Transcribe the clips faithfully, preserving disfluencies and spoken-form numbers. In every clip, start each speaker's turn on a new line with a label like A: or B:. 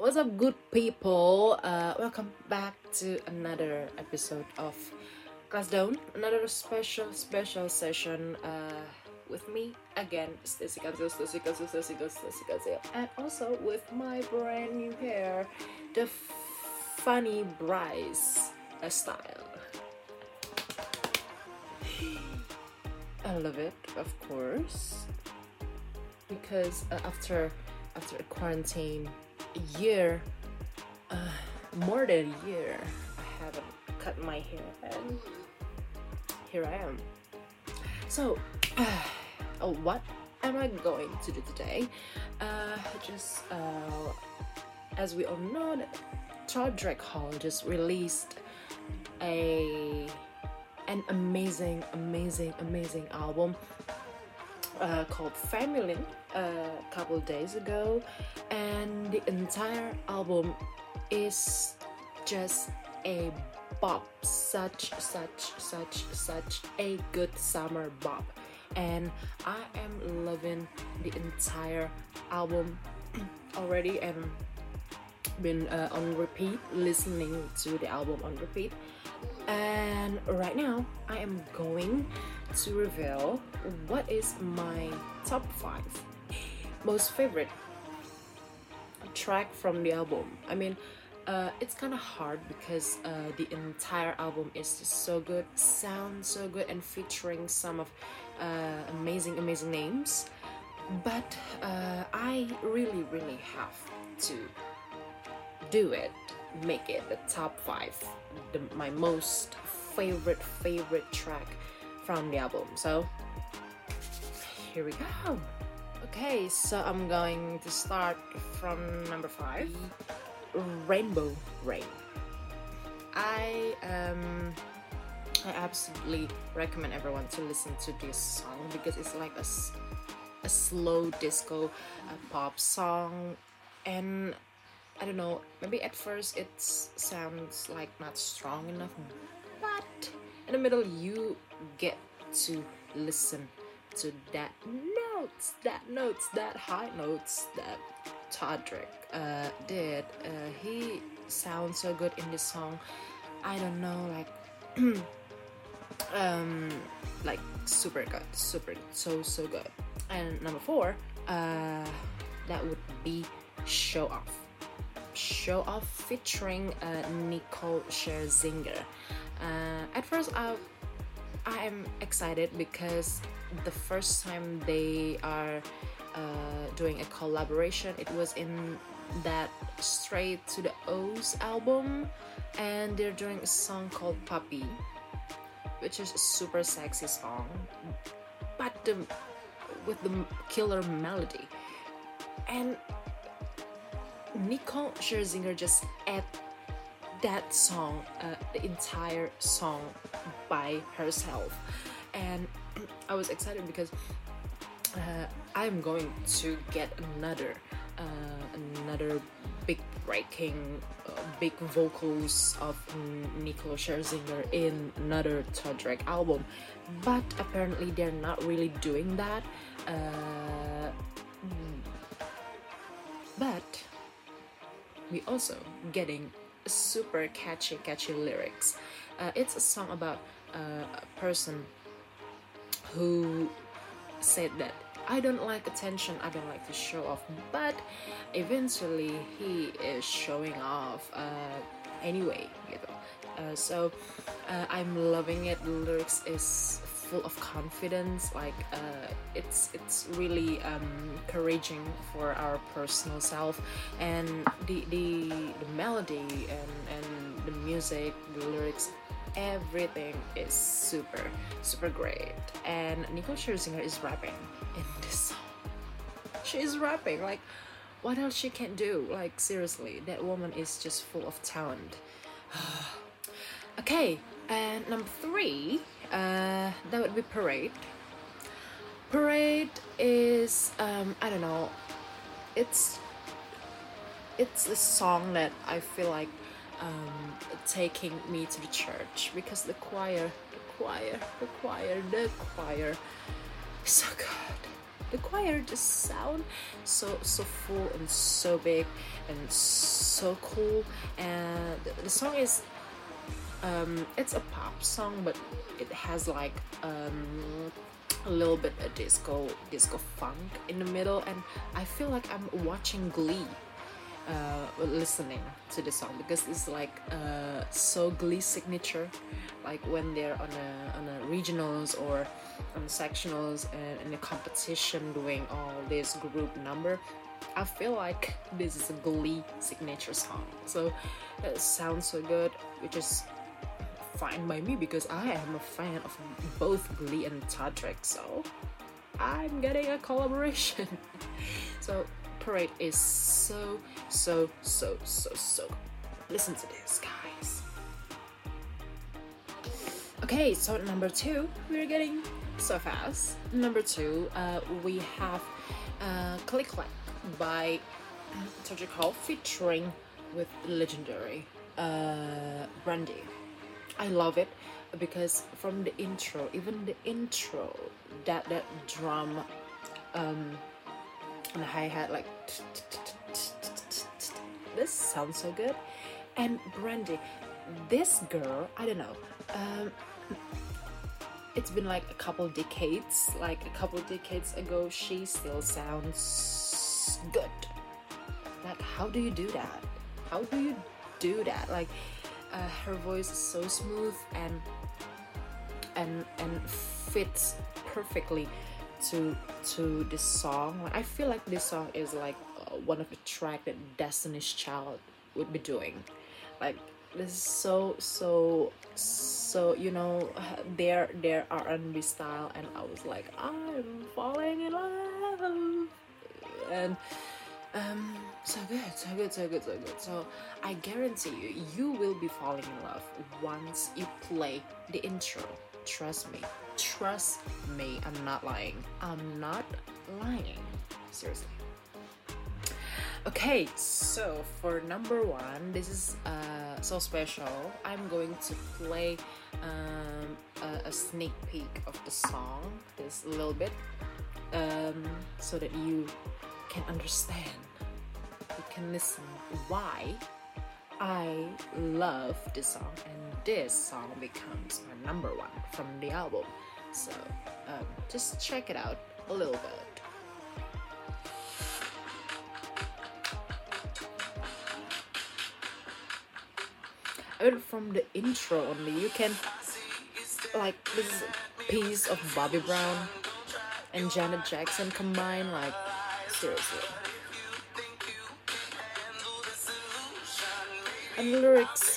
A: What's up, good people? Uh, welcome back to another episode of Class Down. Another special, special session uh, with me again, Stacy Kanzo, Stacy Kanzo, Stacy Kanzo, Stacy Kanzo, and also with my brand new hair, the funny Bryce uh, style. I love it, of course, because uh, after after a quarantine. A year, uh, more than a year, I haven't cut my hair, and here I am. So, uh, oh, what am I going to do today? Uh, just uh, as we all know, that Todrick Hall just released a an amazing, amazing, amazing album. Uh, called Family uh, a couple days ago, and the entire album is just a bop, such such such such a good summer bop, and I am loving the entire album already, and been uh, on repeat, listening to the album on repeat. And right now I am going to reveal what is my top five most favorite track from the album. I mean, uh, it's kind of hard because uh, the entire album is just so good, sounds so good, and featuring some of uh, amazing, amazing names. But uh, I really, really have to do it, make it the top five, the, my most favorite, favorite track from the album. So here we go. Okay, so I'm going to start from number five, Rainbow Rain. I um I absolutely recommend everyone to listen to this song because it's like a, a slow disco a pop song, and I don't know, maybe at first it sounds like not strong enough, but in the middle you get to listen to that notes, that notes, that high notes that Todrick uh, did. Uh, he sounds so good in this song. I don't know, like, um, like super good, super, so so good. And number four, uh, that would be Show Off. Show Off featuring uh, Nicole Scherzinger. Uh, at first, I I am excited because the first time they are uh, doing a collaboration, it was in that Straight to the O's album, and they're doing a song called Puppy, which is a super sexy song, but the, with the killer melody. And Nicole Scherzinger just add that song, uh, the entire song by herself, and I was excited because uh, I'm going to get another, uh, another big breaking, uh, big vocals of Nicole Scherzinger in another Todrick album, but apparently they're not really doing that. Uh, but we also getting super catchy catchy lyrics. Uh, it's a song about uh, a person who said that I don't like attention, I don't like to show off, but eventually he is showing off uh, anyway, gitu. Uh, so uh, I'm loving it. The lyrics is full of confidence, like uh, it's it's really um, encouraging for our personal self, and the the, the melody and, and the music, the lyrics, everything is super super great. And Nicole Scherzinger is rapping in this song. She is rapping, like what else she can do? Like seriously, that woman is just full of talent. Okay, and number three, uh, that would be Parade. Parade is um, I don't know, it's it's a song that I feel like um, taking me to the church, because the choir, the choir, the choir, the choir is so good. the choir just sound so so full and so big and so cool. And the, the song is um it's a pop song, but it has like um a little bit of disco disco funk in the middle, and I feel like I'm watching Glee uh listening to the song, because it's like uh so Glee signature, like when they're on a on a regionals or on sectionals and in a competition doing all this group number. I feel like this is a Glee signature song, so it sounds so good, which is fine by me because I am a fan of both Glee and Todrick, so I'm getting a collaboration. So Parade is so so so so so good. Listen to this, guys. Okay, so number two, we're getting so fast. Number two, uh, we have uh, Click Clack by Todrick Hall featuring with legendary uh, Brandy. I love it because from the intro, even the intro, that that drum um, and the hi-hat, like this sounds so good. And Brandy, this girl, I don't know, um, it's been like a couple decades, like a couple decades ago, she still sounds good. Like, how do you do that? How do you do that? Like, uh, her voice is so smooth and and and fits perfectly to to this song. Like, I feel like this song is like uh, one of the track that Destiny's Child would be doing. Like, this is so so so you know their their R and B style, and I was like, I'm falling in love. And um so good so good so good so good so I guarantee you, you will be falling in love once you play the intro. Trust me, trust me, I'm not lying. I'm not lying, seriously. Okay, so for number one, this is uh, so special. I'm going to play um, a, a sneak peek of the song, this little bit, um, so that you can understand, you can listen why I love this song, and this song becomes my number one from the album. So um, just check it out a little bit. Even from the intro only, you can like this piece of Bobby Brown and Janet Jackson combined, like seriously. And the lyrics,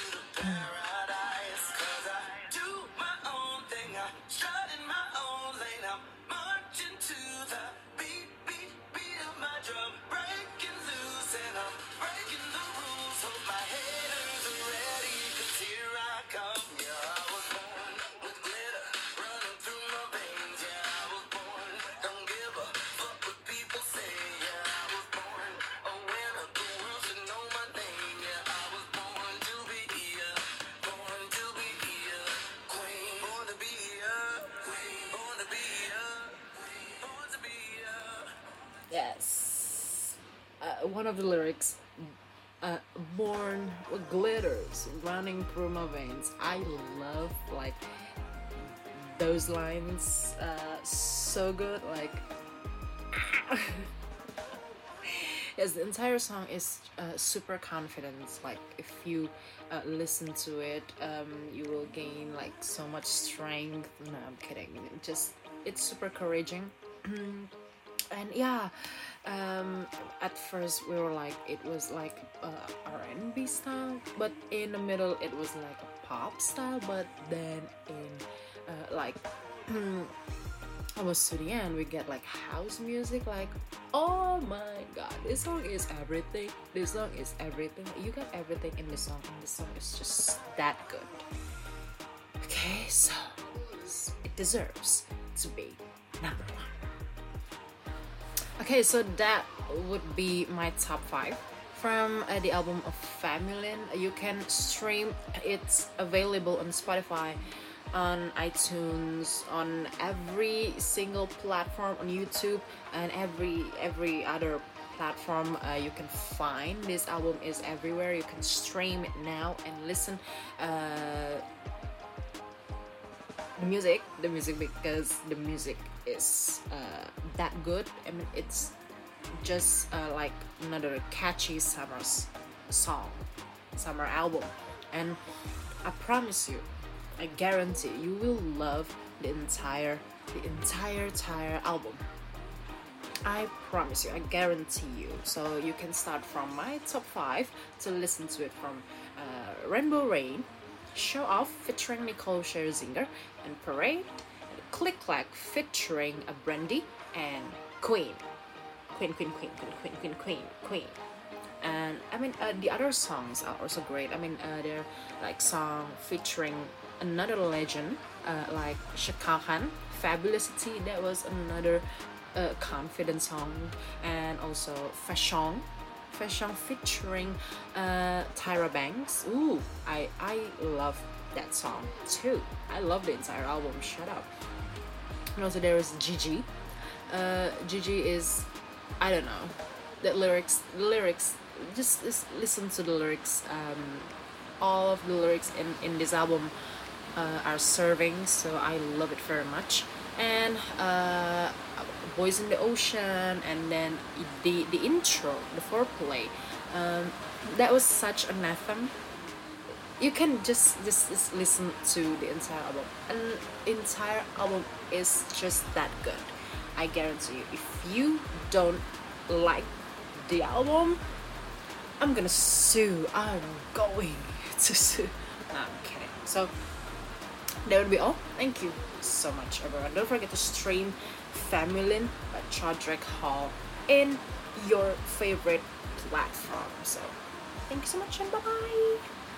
A: yes, uh, one of the lyrics, uh, born with glitters running through my veins. I love like those lines, uh, so good. Like, yes, the entire song is uh, super confident. Like, if you uh, listen to it, um, you will gain like so much strength. No, I'm kidding. Just it's super encouraging. And yeah, um, at first we were like, it was like uh, R and B style, but in the middle it was like a pop style, but then in uh, like almost to the end we get like house music. Like, oh my god, this song is everything. This song is everything. You got everything in the song, and the song is just that good. Okay, so it deserves to be number one. Okay, so that would be my top five from uh, the album of Familin. You can stream, it's available on Spotify, on iTunes, on every single platform, on YouTube, and every every other platform uh, you can find. This album is everywhere. You can stream it now and listen uh, the music, the music because the music is uh, that good. I mean, it's just uh, like another catchy summer song, summer album, and I promise you, I guarantee you will love the entire, the entire, entire album. I promise you, I guarantee you. So you can start from my top five to listen to it from uh, Rainbow Rain, Show Off featuring Nicole Scherzinger, and Parade, and Click Clack featuring a Brandy, and Queen. Queen, Queen, Queen, Queen, Queen, Queen, Queen, Queen. And I mean, uh, the other songs are also great. I mean, uh, they're like song featuring another legend, uh, like Chaka Khan, Fabulosity. That was another uh, confident song, and also Fashion, Fashion featuring uh, Tyra Banks. Ooh, I I love that song too. I love the entire album. Shut up. And also there is Gigi. Uh, Gigi is, I don't know, the lyrics, the lyrics. Just, just listen to the lyrics. Um, all of the lyrics in in this album uh, are serving, so I love it very much. And uh, Boys in the Ocean, and then the the intro, the foreplay, um, that was such an anthem. You can just, just just listen to the entire album, and entire album is just that good. I guarantee you. If you don't like the album, I'm gonna sue. I'm going to sue. No, I'm kidding. So that would be all. Thank you so much, everyone. Don't forget to stream Feminine by Chodrick Hall in your favorite platform. So thank you so much, and bye bye.